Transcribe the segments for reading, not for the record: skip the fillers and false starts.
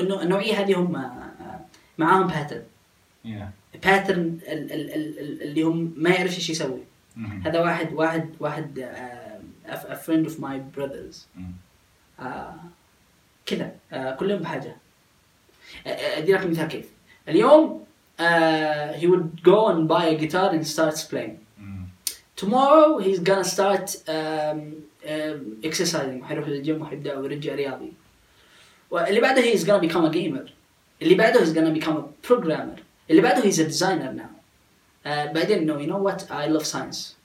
انه النوعيه هذه هم معاهم باترن اللي هم ما يعرف ايش يسوي. هذا واحد a friend of my brothers كذا كلهم بحاجه. ادي لك مثال كيف اليوم he would go and buy a guitar and starts playing. Tomorrow he's gonna start exercising, حيروح للجيم وحيبدأ ويرجع رياضي. واللي بعده he's gonna become a gamer. اللي بعده he's gonna become a programmer. اللي بعده he's a designer now. بعدين no, you know what, I love science.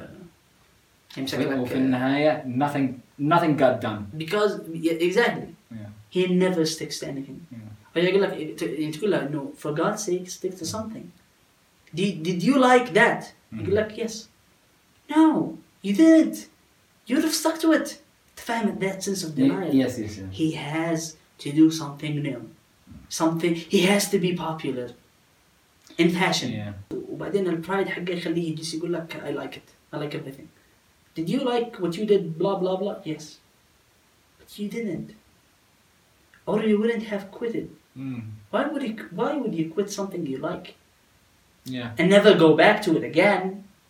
وفي النهاية nothing got done. Because exactly he never sticks to anything. فيقول لك تقول له إنه for God's sake stick to something. Did you like that? يقول لك yes. No, you didn't. You would have stuck to it. تفهم that sense of denial. Yes. He has to do something new. Something he has to be popular in fashion. وبعدين البرايد حقه يخليه يجلس يقول لك I like it. I like everything. Did you like what you did? Blah blah blah. Yes. But you didn't. Or you wouldn't have quit it. Why would you quit something you like? And never go back to it again?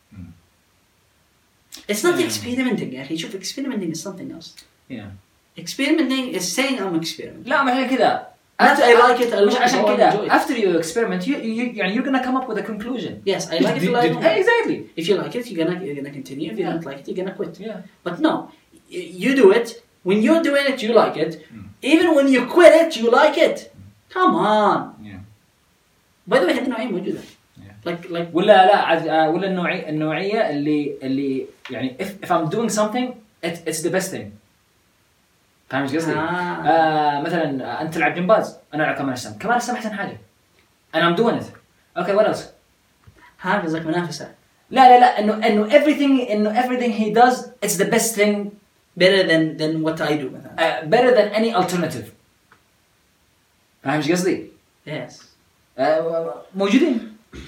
It's not experimenting يا أخي. شوف experimenting is something else. Experimenting is saying I'm experimenting. لا ما هي كذا. Not I like it. مش عشان كذا. After you experiment, يعني you're gonna come up with a conclusion. Yes, I like it. Exactly. If you like it, you're gonna continue. If you don't like it, you're gonna quit. But no, you do it. When you're doing it, you like it. Even when you quit it, you like it. Come on. By the way, هذه نوعية موجودة. Like ولا النوعية اللي يعني if I'm doing something it's the best thing. فاهم ايش قصدي؟ مثلا انت تلعب جمباز انا العب كمال اجسام احسن حاجة. and I'm doing it. Okay, what else? قصدك منافسة. لا انه everything he does it's the best thing, better than what I do مثلا. better than any alternative. فاهم ايش قصدي؟ Yes. موجودين.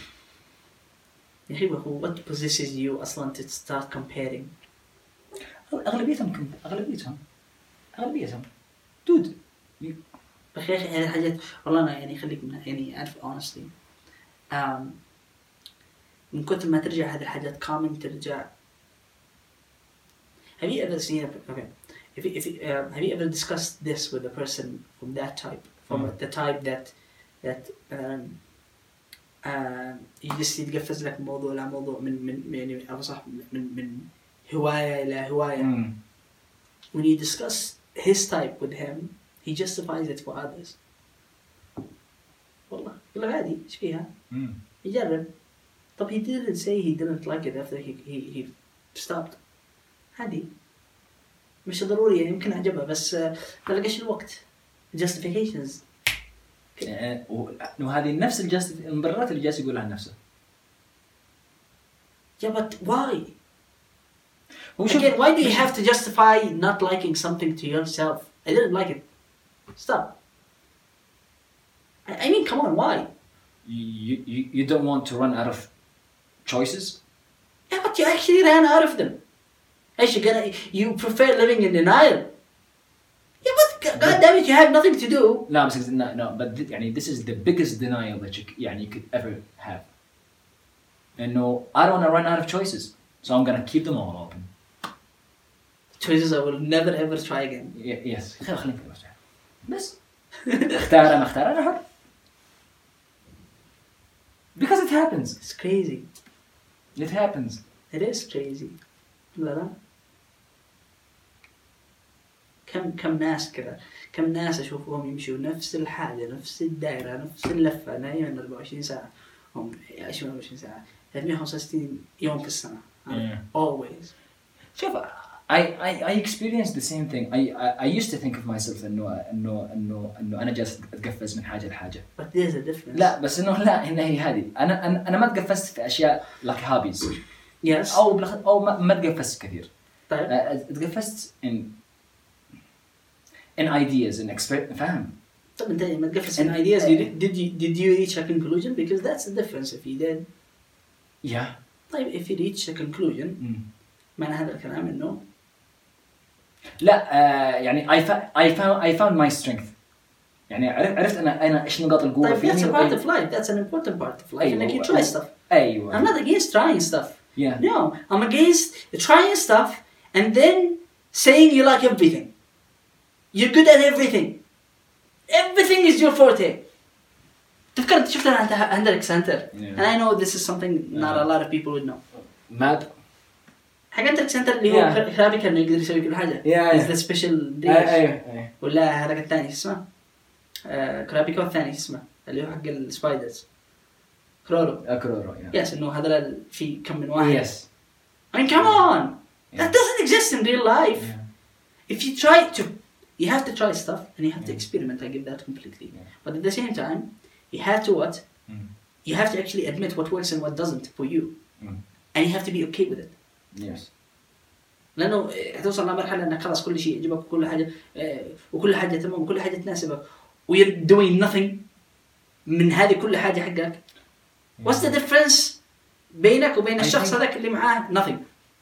يا أخي what possesses you أصلاً to start comparing؟ أغلبيتهم دود. أخي هذه الحاجات والله أنا يعني خليك منها يعني أعرف honestly من كثر ما ترجع هذه الحاجات common ترجع. Have you ever seen have you ever discussed this with a person from that type, from the type that يجلس يتقفز لك موضوع لا موضوع من يعني أبصح من هواية إلى هواية. When you discuss his type with him, he justifies it for others. والله يقول له عادي إيش فيها؟ يجرب. طب he didn't say he didn't like it after he stopped. عادي مش ضروري يعني يمكن عجبه بس ما لقاش الوقت. Justifications. وهذه نفس المبررات اللي جالس يقولها عن نفسه. Yeah, but why? Again, why do you have to justify not liking something to yourself? I didn't like it. Stop. I mean, come on, why? You don't want to run out of choices? Yeah, but you actually ran out of them. You prefer living in denial. Yeah, but God damn it, you have nothing to do. No, but this is the biggest denial that you could ever have. And no, I don't want to run out of choices, so I'm gonna keep them all open. Choices I will never ever try again. Yes. خلينا بس اختار أنا حر. Because it happens. It's crazy. It happens. It is crazy. لا. كم ناس كذا كم ناس أشوفهم يمشوا نفس الحاجة نفس الدائرة نفس اللفة دائما 24 ساعة هم يعيشون 24 ساعة 365 يوم في السنة. Always. شوف I experienced the same thing. I used to think of myself إنه أنا جالس أتقفز من حاجة لحاجة. But there's a difference. لا بس إنه هي هذه أنا ما تقفزت في أشياء like hobbies. Yes. أو ما تقفزت كثير. طيب. تقفزت in ideas and فهم. طب أنت ما تقفز in ideas. Did you reach a conclusion? Because that's the difference. If you did. Yeah. طيب if you reach a conclusion. معنى هذا الكلام إنه. لا يعني I found my strength. يعني عرفت انا ايش نقاط القوه طيب فيني. that's a part of life. That's an important part of life. أيوة. إنك you try stuff. ايوه. I'm not against trying stuff. Yeah. No, I'm against trying stuff and then saying you like everything. You're good at everything. Everything is your forte. تفكرت شفت أنا هندريك سنتر. And I know this is something not a lot of people would know. ماب. حق هندريك سنتر اللي هو خرابي كان يقدر يسوي كل حاجة. Is the special days. أيوه. ولا هذاك الثاني اسمه كرابيكو الثاني اسمه اللي هو حق السبايدرز. كرورو. Yes, إنه هذا في كم من واحد. Yes. I mean, come on. That doesn't exist in real life. If you try to, you have to try stuff and you have to experiment. I give that completely. But at the same time, you have to what? You have to actually admit what works and what doesn't for you. And you have to be okay with it. Yes. لأنه هتوصل لمرحلة إنك خلاص كل شيء يعجبك وكل حاجة تمام وكل حاجة تناسبك و you're doing nothing من هذه كل حاجة حقك. What's the difference بينك وبين الشخص هذاك اللي معاه؟ Nothing.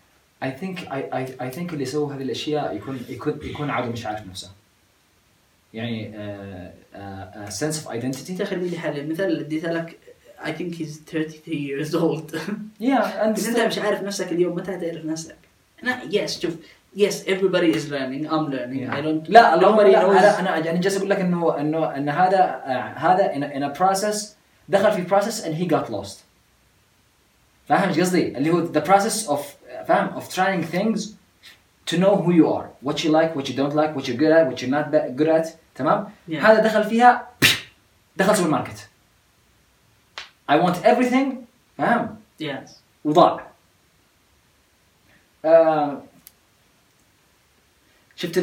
I think اللي يسوي هذه الأشياء يكون عادي مش عارف نفسه. يعني sense of identity. تخيل لي حالة مثال اللي اديته لك I think he's 33 years old. Yeah. بس أنت مش عارف نفسك اليوم متى تعرف نفسك. Yes شوف. Yes everybody is learning. I'm learning. I don't. لا أنا يعني جالس أقول لك إن هذا in a process دخل في process and he got lost. فاهم إيش قصدي؟ اللي هو the process of فاهم of trying things to know who you are, what you like, what you don't like, what you're good at, what you're not good at. تمام؟ هذا دخل فيها دخل سوبر ماركت. I want everything. فاهم؟ Yes. وضاع. شفت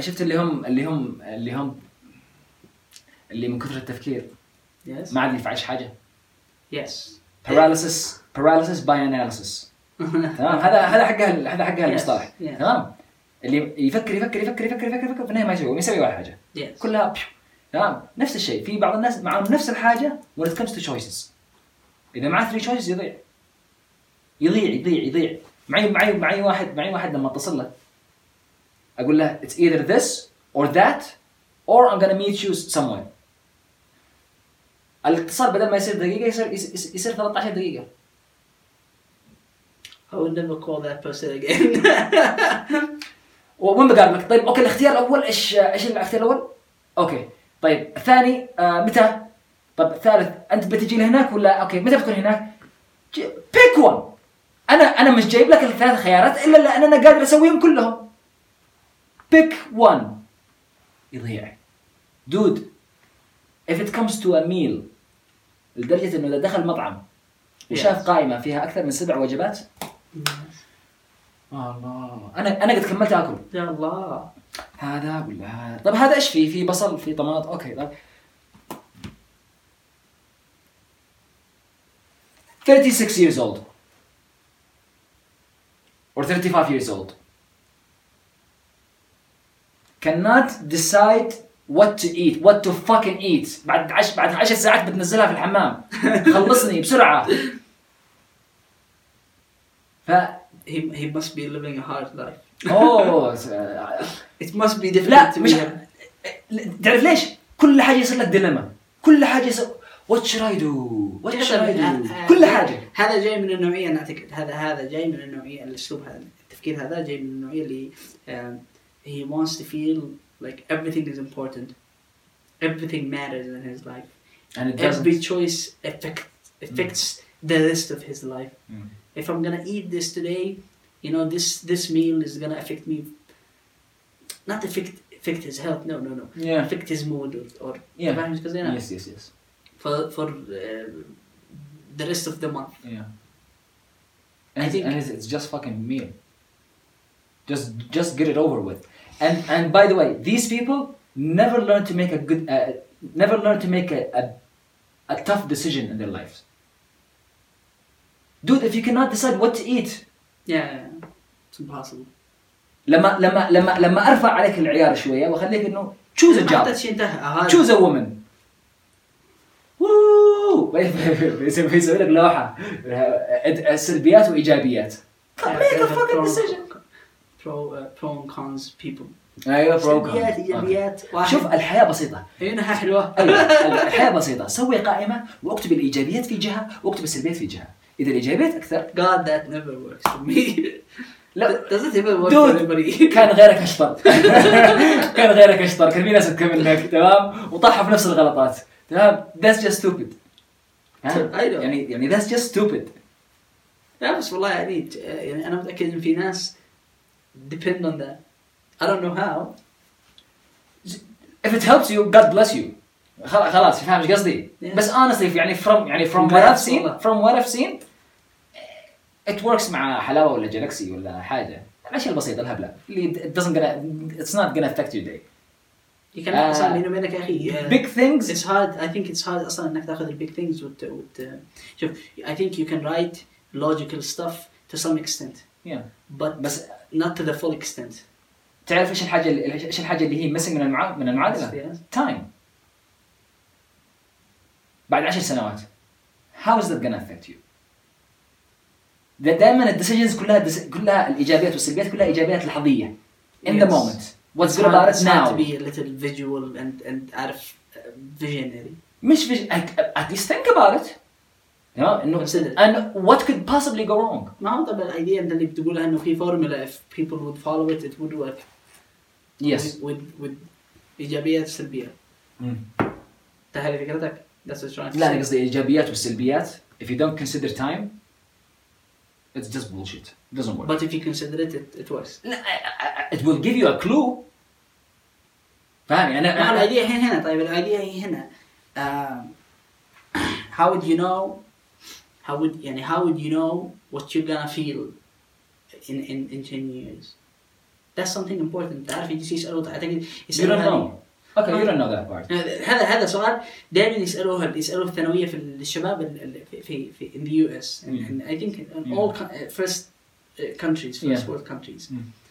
اللي من كثر التفكير. Yes. ما عاد ينفعش حاجة. Yes. paralysis by analysis. تمام. هذا حقها المصطلح. تمام. اللي يفكر في النهاية ما يسوي ولا حاجة. Yes. كلها تمام. نفس الشيء في بعض الناس معهم نفس الحاجة when it comes to choices. إذا معه 3 choices يضيع. معي واحد لما اتصل له أقول له it's either this or that or I'm gonna meet you somewhere. الاتصال بدل ما يصير دقيقة يصير 13 دقيقة. I would never call that person again. وين بقال لك طيب أوكي الاختيار الأول إيش الاختيار الأول؟ أوكي طيب الثاني متى؟ طيب الثالث أنت بتجي لهناك ولا أوكي متى بتكون هناك؟ pick one. أنا مش جايب لك الثلاث خيارات إلا لأن أنا قادر أسويهم كلهم. pick one. يضيع. dude if it comes to a meal لدرجة إنه إذا دخل مطعم وشاف قائمة فيها أكثر من 7 وجبات الله أنا قد كملت أكل يا الله هذا ولا هذا. طب هذا إيش فيه بصل في طماط أوكي طب 36 years old or 35 years old cannot decide what to eat, what to fucking eat. بعد 10 ساعات بتنزلها في الحمام. خلصني بسرعة. he must be living a hard life. Oh, it must be difficult. لا مش تعرف ليش؟ كل حاجة يصير لك ديلما. كل حاجة يصير what should I do? What should I do? كل حاجة. هذا جاي من النوعية أنا أعتقد هذا جاي من النوعية الأسلوب هذا التفكير هذا جاي من النوعية اللي he wants to feel like everything is important, everything matters in his life, and every choice affects the rest of his life. If I'm gonna eat this today, you know, this meal is gonna affect me, not affect his health, no, yeah. affect his mood or yeah. Yes. For the rest of the month. Yeah. And I think it's just fucking meal. Just get it over with. And by the way, these people never learn to make a tough decision in their lives. Dude, if you cannot decide what to eat, it's impossible. لما ارفع عليك العيار شويه واخليك انه choose a job, choose a woman. يسوي لك لوحه سلبيات وايجابيات. Make a fucking decision. Pro and cons people. ايوه سلبيات ايجابيات. شوف الحياه بسيطه هنا حلوه. الحياه بسيطه. سوي قائمه واكتب الايجابيات في جهه واكتب السلبيات في جهه. اذا الايجابيات اكثر God that never works for me. لا does it ever work for anybody؟ كان غيرك اشطر. كان غيرك اشطر، كان في ناس اذكى منك تمام وطاحوا في نفس الغلطات تمام. that's just stupid. يعني that's just stupid. لا بس والله يعني انا متاكد ان في ناس depend on that. I don't know how. If it helps you, God bless you. خلاص فاهم ايش قصدي؟ بس honestly يعني from what I've seen it works مع حلاوه ولا جالكسي ولا حاجه. الاشياء البسيطه الهبله اللي it's not gonna affect your day. You can اصلا بيني وبينك يا اخي big things it's hard. I think it's hard اصلا انك تاخذ ال big things شوف I think you can write logical stuff to some extent. but not to the full extent. تعرف ايش الحاجه اللي هي missing من المعادله؟ time. بعد 10 سنوات how is that gonna affect you؟ دائما الديسيجنز كلها الايجابيات والسلبيات كلها ايجابيات لحظيه in the moment. What's good about it now? To be a little visual and out of visionary. مش at least think about it. You know, and what could possibly go wrong? ما هو طبعا الايديا اللي بتقولها انه في فورمولا if people would follow it would work. Yes. with ايجابيات وسلبيات. هذه فكرتك؟ That's what you're trying to say. لا أنا قصدي ايجابيات والسلبيات. If you don't consider time, it's just bullshit. It doesn't work. But if you consider it works. It will give you a clue. فاهم أنا الايديا هنا. طيب الايديا هي هنا. How would you know? How would you know what you're gonna feel in 10 years? That's something important. تعرف يجي يسألوا أعتقد يسألوا. You don't know. Okay, you don't know that part. هذا سؤال دائما يسألوه الثانوية في الشباب في in the US and I think in all first world countries.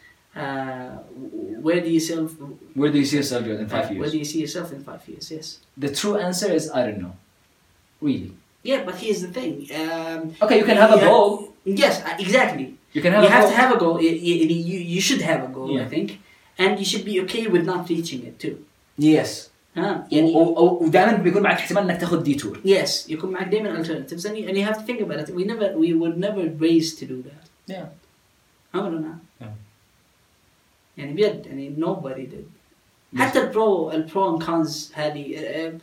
Where do you see yourself in 5 years? Where do you see yourself in 5 years? Yes. The true answer is I don't know. Really. Yeah, but here's the thing. Okay, you can have a goal. Yes, exactly. You can have to have a goal. You should have a goal, I think, and you should be okay with not reaching it too. Yes. يعني ودائما بيكون معك احتمال انك تاخذ ديتور. Yes, يكون معك دائما alternatives and you have to think about it. We were never raised to do that. Yeah. أبدا. يعني بجد يعني nobody did. حتى البرو and cons هذه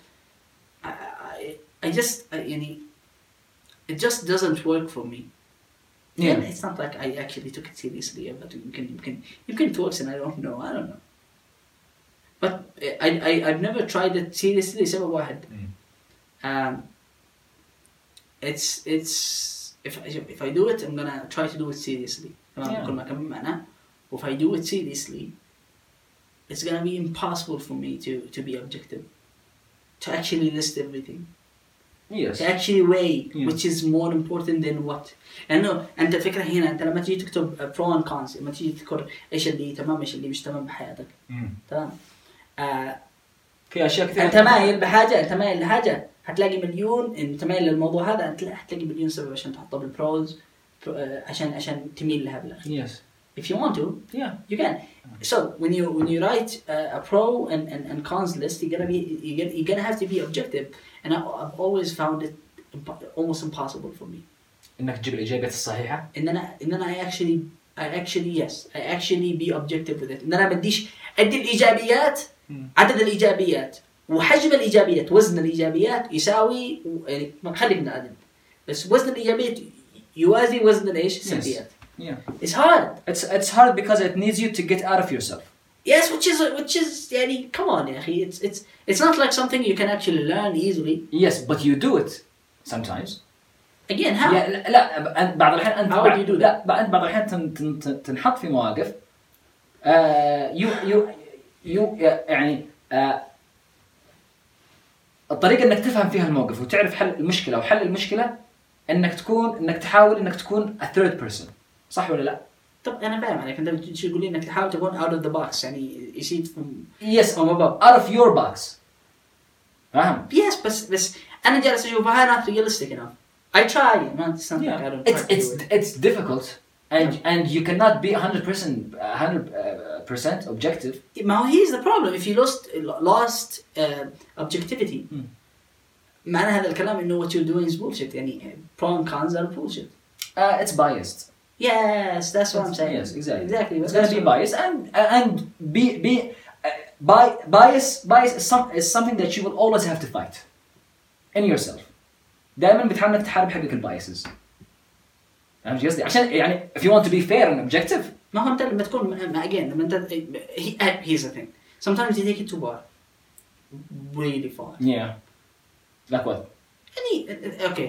I just يعني it just doesn't work for me. Yeah. It's not like I actually took it seriously, but you can talk and I don't know. But I've never tried it seriously. سبب واحد. It's if I do it, I'm gonna try to do it seriously. كل ما كمل معنا. If I do it seriously, it's gonna be impossible for me to be objective, to actually list everything. Yes. To actually weigh which is more important than what. لأنه أنت الفكرة هنا أنت لما تيجي تكتب pro and cons لما تيجي تذكر إيش اللي تمام إيش اللي مش تمام بحياتك. تمام. في أشياء كثيرة. أنت مايل بحاجة أنت مايل لحاجة هتلاقي مليون أنت مايل للموضوع هذا هتلاقي مليون سبب عشان تحطه بالبروز عشان تميل لها بالآخر. Yes. If you want to, you can. So when you write a pro and cons list, you're gonna have to be objective, and I've always found it almost impossible for me. إنك تجيب الإجابات الصحيحة. إن أنا I actually be objective with it. إن أنا بديش أدي الإيجابيات عدد الإيجابيات وحجم الإيجابيات وزن الإيجابيات يساوي يعني ما خلي من عدد بس وزن الإيجابيات يوازي وزن الإيش السلبيات. Yeah. It's hard. It's hard because it needs you to get out of yourself. Yes, which is يعني come on يا أخي it's not like something you can actually learn easily. Yes, but you do it sometimes. Again, how? لا بعض الأحيان أنت how would you do that? أنت بعض الأحيان تنحط في مواقف يعني الطريقة إنك تفهم فيها الموقف وتعرف حل المشكلة وحل المشكلة إنك تحاول إنك تكون a third person. صح ولا لا؟ طب أنا فاهم عليك أنت تقول لي إنك تحاول تكون out of the box يعني يصير yes from above out of your box. فاهم؟ Yes بس أنا جالس أشوفها not realistic enough. I try man it's not like I don't it's difficult and you cannot be 100% 100% objective. ما هو here's the problem. If you lost objectivity معنى هذا الكلام إنه what you're doing is bullshit. يعني pro and cons are bullshit. It's biased. Yes, that's what I'm saying. Yes, exactly. Exactly. It's going to be biased and bias is something that you will always have to fight in yourself. دائما بتحاول انك تحارب حقك البايسز. فهمت قصدي؟ عشان يعني if you want to be fair and objective. ما هو أنت لما تكون again لما أنت here's the thing. Sometimes you take it too far. Really far. Yeah. Like what? Okay.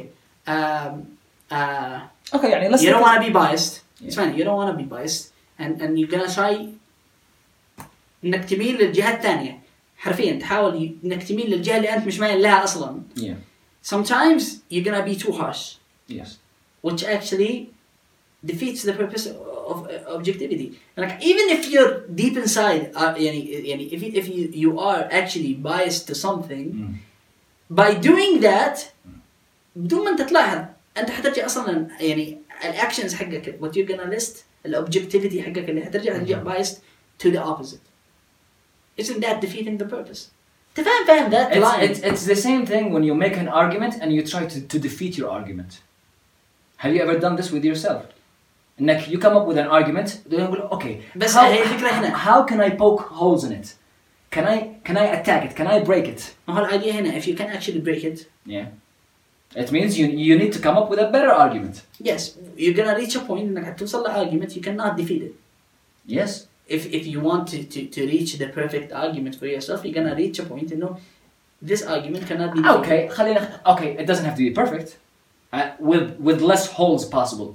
Okay, يعني let's. You don't want to be biased. Yeah. It's fine. You don't want to be biased, and you're gonna try إنك تميل للجهة الثانية. حرفيا تحاول إنك تميل للجهة اللي أنت مش مايل لها أصلاً. Yeah. Sometimes you're gonna be too harsh. Yes. Which actually defeats the purpose of objectivity. Like even if you're deep inside, if you are actually biased to something, by doing that, بدون ما أنت تلاحظ أنت حترجع أصلاً يعني الactions حقك what you're gonna list الobjectivity حقك اللي حترجع biased to the opposite. Isn't that defeating the purpose? فاهم that line. It's the same thing when you make an argument and you try to defeat your argument. Have you ever done this with yourself? إنك you come up with an argument, then you go, okay. بس هي الفكرة هنا. How can I poke holes in it? Can I attack it? Can I break it? ما هو الidea هنا if you can actually break it. Yeah. It means you need to come up with a better argument. Yes, you're gonna reach a point إنك هتوصل لargument you cannot defeat it. Yes. If you want to reach the perfect argument for yourself, you're gonna reach a point, this argument cannot be defeated. Okay, it doesn't have to be perfect. With less holes possible.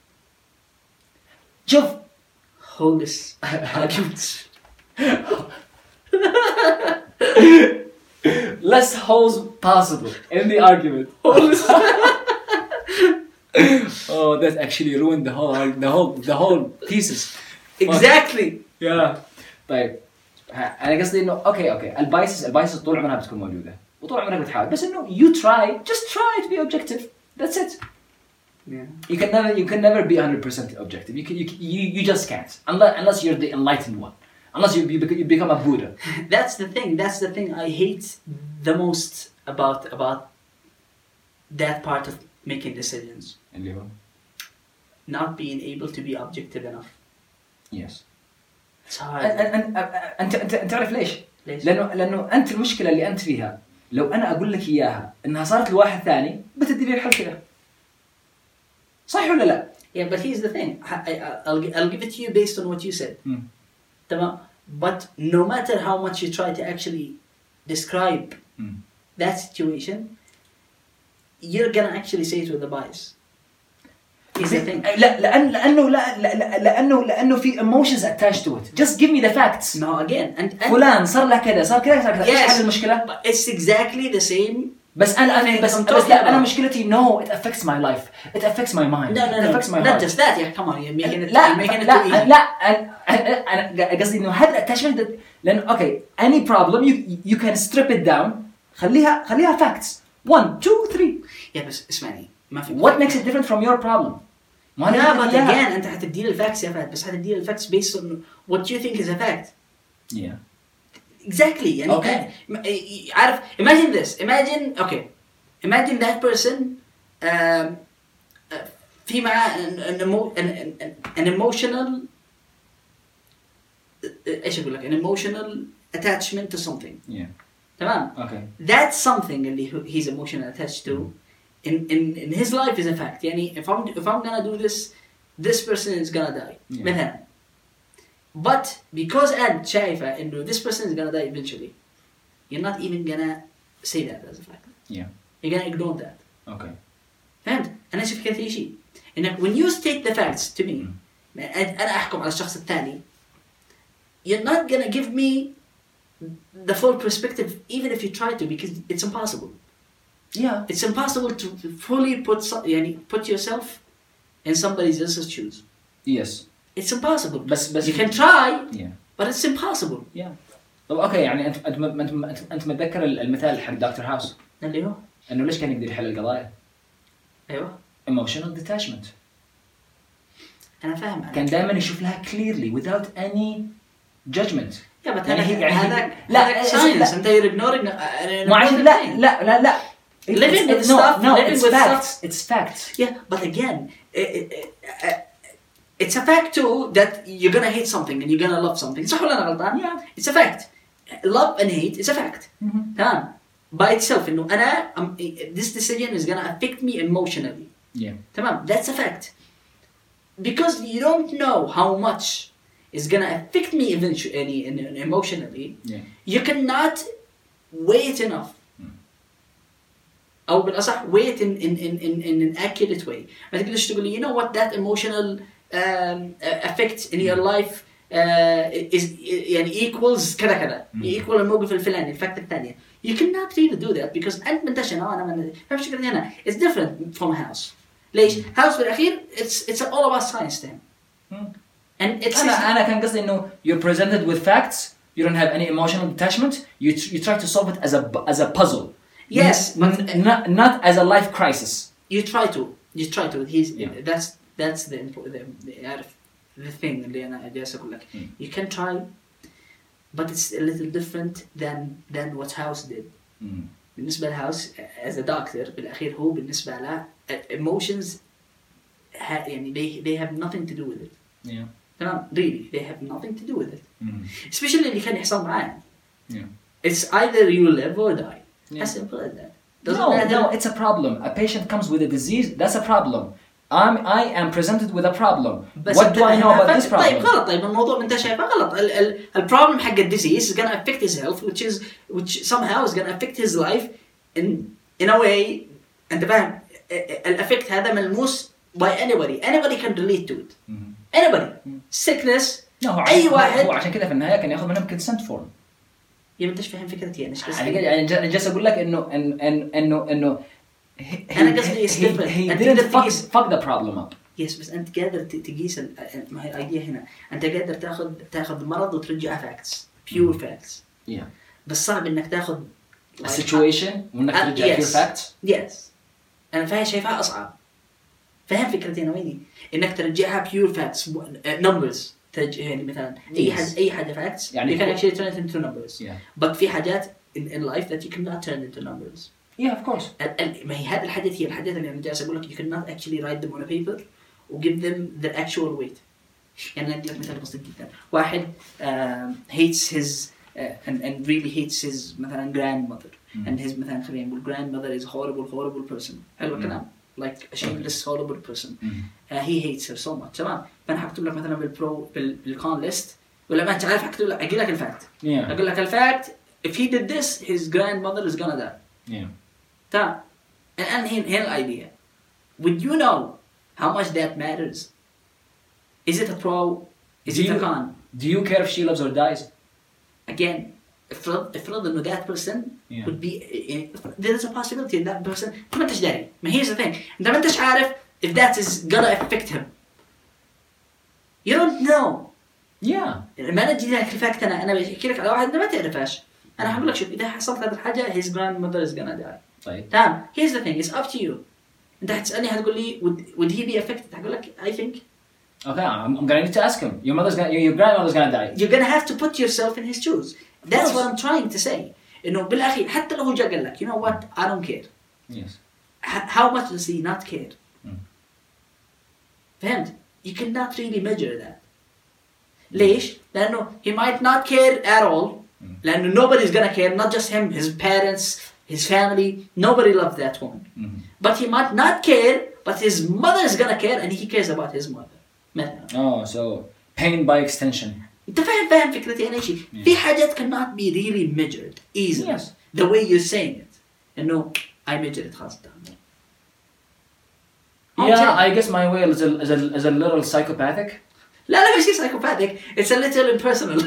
شوف holes arguments. Less holes possible in the argument. Oh, that actually ruined the whole thesis. Exactly. Yeah. طيب أنا قصدي إنه أوكي البايسز طول عمرها بتكون موجودة وطول عمرك بتحاول بس إنه just try to be objective. That's it. Yeah. You can never be 100% objective. You just can't unless you're the enlightened one. Unless you become a Buddha. That's the thing I hate the most about that part of making decisions. اللي هو not being able to be objective enough. Yes. It's hard. أنت تعرف ليش؟ لأنه أنت المشكلة اللي أنت فيها لو أنا أقول لك إياها إنها صارت لواحد ثاني بتدي لي الحل كذا. صح ولا لا؟ Yeah, but here's the thing. I'll give it to you based on what you said. تمام. But no matter how much you try to actually describe that situation, you're gonna actually say it with a bias. Here's the thing. لأنه في emotions attached to it. Just give me the facts. No, again. And فلان صار له كذا صار كذا. إيش حل المشكلة؟ But it's exactly the same. بس أنا مشكلتي no, it affects my life. It affects my mind. No. It affects my not heart. just that. Yeah, come on. You're making it. لا أنا قصدي إنه هذا attachment لأنه any problem you can strip it down. خليها facts. 1, 2, 3. Yeah, بس اسمعني. ما في. What makes it different from your problem? Yeah, but again أنت حتدي الفاكس يا فهد بس حتدي الفاكس based on what you think is a fact. Yeah. Exactly. يعني عارف imagine this. Imagine that person في معه an emotional إيش أقول لك an emotional attachment to something. Yeah. تمام. Okay. That something اللي he's emotionally attached to in his life is a fact. يعني if I'm gonna do this person is gonna die. Yeah. مثلا. But because أنت شايفة إنه this person is gonna die eventually, you're not even gonna say that as a fact. Yeah. You're gonna ignore that. Okay. فهمت؟ أنا أشوف كذا شيء. إنك when you state the facts to me, أنا أحكم على الشخص الثاني. You're not gonna give me the full perspective even if you try to because it's impossible. Yeah. It's impossible to fully put yourself in somebody else's shoes. Yes. It's impossible. بس you can try. Yeah. But it's impossible. Yeah. طب يعني أنت متذكر المثال حق دكتور هاوس اللي هو إنه ليش كان يقدر يحل القضايا؟ أيوة. Emotional detachment. أنا فاهم. كان دائما يشوف لها clearly without any judgment. يا بس يعني هذا لا science أنت you're ignoring مو عشان لا living with stuff living it's with facts stuff it's facts. yeah but again it's a fact too that you're gonna hate something and you're gonna love something صح ولا أنا غلطان؟ Yeah. it's a fact love and hate is a fact تمام by itself إنه أنا this decision is gonna affect me emotionally Yeah. تمام that's a fact because you don't know how much is gonna affect me eventually emotionally Yeah. you cannot wait enough أو بالأصح wait in an accurate way ما تقدرش تقول لي you know what that emotional effect in your life is يعني equals كذا كذا equal الموقف الفلاني الفاكت الثانية you cannot really do that because أنت منتشر أنا من فاهم شو هنا it's different from a house ليش house بالأخير it's all about science then and it's أنا كان قصدي إنه you're presented with facts you don't have any emotional attachment you try to solve it as a puzzle. Yes, but not as a life crisis. You try to. That's the thing اللي أنا جالس أقول لك. You can try, but it's a little different than what House did. بالنسبة لهاوس as a doctor بالأخير هو بالنسبة له emotions يعني they have nothing to do with it. Yeah. تمام really they have nothing to do with it. Especially اللي كان يحصل معاه. Yeah. It's either you live or die. Yeah. As simple as that. No, it's a problem. A patient comes with a disease, that's a problem. I am presented with a problem. What do I know about this problem? طيب غلط الموضوع انت شايفه غلط البروبلم حق الديزيز is gonna affect his health which somehow is gonna affect his life in a way انت فاهم الافكت هذا ملموس by anybody can relate to it anybody sickness اي واحد هو عشان كده في النهايه كان ياخذ منهم consent form. يا انت ايش فاهم فكرتي انا ايش قصدي يعني جالس اقول لك انه انا قصدي he didn't fuck the problem up. يس بس انت قادر تقيس ما هي الايديا هنا انت قادر تاخذ مرض وترجعه فاكتس pure facts yeah. بس صعب انك تاخذ a situation وانك ترجع pure facts. yes انا فاهم شايفها اصعب فاهم فكرتي انا ويني انك ترجعها pure facts numbers يعني مثلا اي حاجه facts يعني you can actually turn it into numbers yeah. but في حاجات in life that you cannot turn into numbers. Yeah, of course. ما هي هذه الحاجات هي الحاجات اللي أنا جالس أقول لك you cannot actually write them on a paper و give them their actual weight. يعني أنا أديك مثال بسيط جدا. واحد hates his and really hates his مثلا grandmother and his مثلا خلينا نقول grandmother is horrible person. حلو الكلام. Like a shameless horrible person. He hates her so much. تمام. فأنا هكتب لك مثلا بالcon list ولا ما أنت عارف هكتب لك أجي لك الفاكت. أقول لك الفاكت if he did this his grandmother is gonna die. Yeah. تمام. الآن هنا الidea. Would you know how much that matters? Is it a pro? Is it a con? Do you care if she lives or dies? Again, افرض إنه that person would be there is a possibility that person أنت ما أنتش داري. ما here's the thing. أنت ما أنتش عارف if that is gonna affect him. You don't know. Yeah. ما نجي لك الفاكت أنا بحكي لك على واحد أنت ما تعرفهاش. أنا هقول لك شوف إذا حصلت هذه الحاجة his grandmother is gonna die. طيب. تمام. Here's the thing. It's up to you. أنت هتسألني هتقول لي would he be affected؟ هقول لك I think. Okay, I'm gonna need to ask him. Your grandmother's gonna die. You're gonna have to put yourself in his shoes. That's what I'm trying to say. إنه بالأخير حتى لو هو جا قال لك you know what I don't care. Yes. How much does he not care? فهمت؟ You cannot really measure that. ليش؟ لأنه he might not care at all. لأنه nobody's gonna care, not just him, his parents, his family, nobody loves that woman. But he might not care, but his mother is gonna care and he cares about his mother. مثلا. Oh, so pain by extension. أنت فاهم فكرتي أنا شيء. في حاجات cannot be really measured easily. Yes. The way you're saying it. إنه I measure it خلاص. Yeah, I guess my way is a little psychopathic. لا مش psychopathic. It's a little impersonal.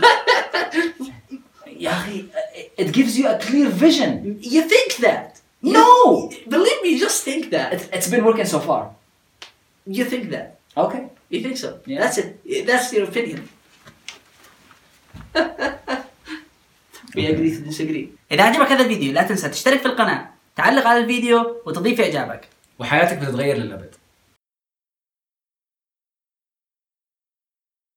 It gives you a clear vision. You think that? No! Believe me, just think that. It's been working so far. You think that? Okay. You think so? Yeah. That's it. That's your opinion. We agree to disagree. إذا عجبك هذا الفيديو لا تنسى تشترك في القناة، تعلق على الفيديو وتضيف إعجابك. وحياتك بتتغير للأبد.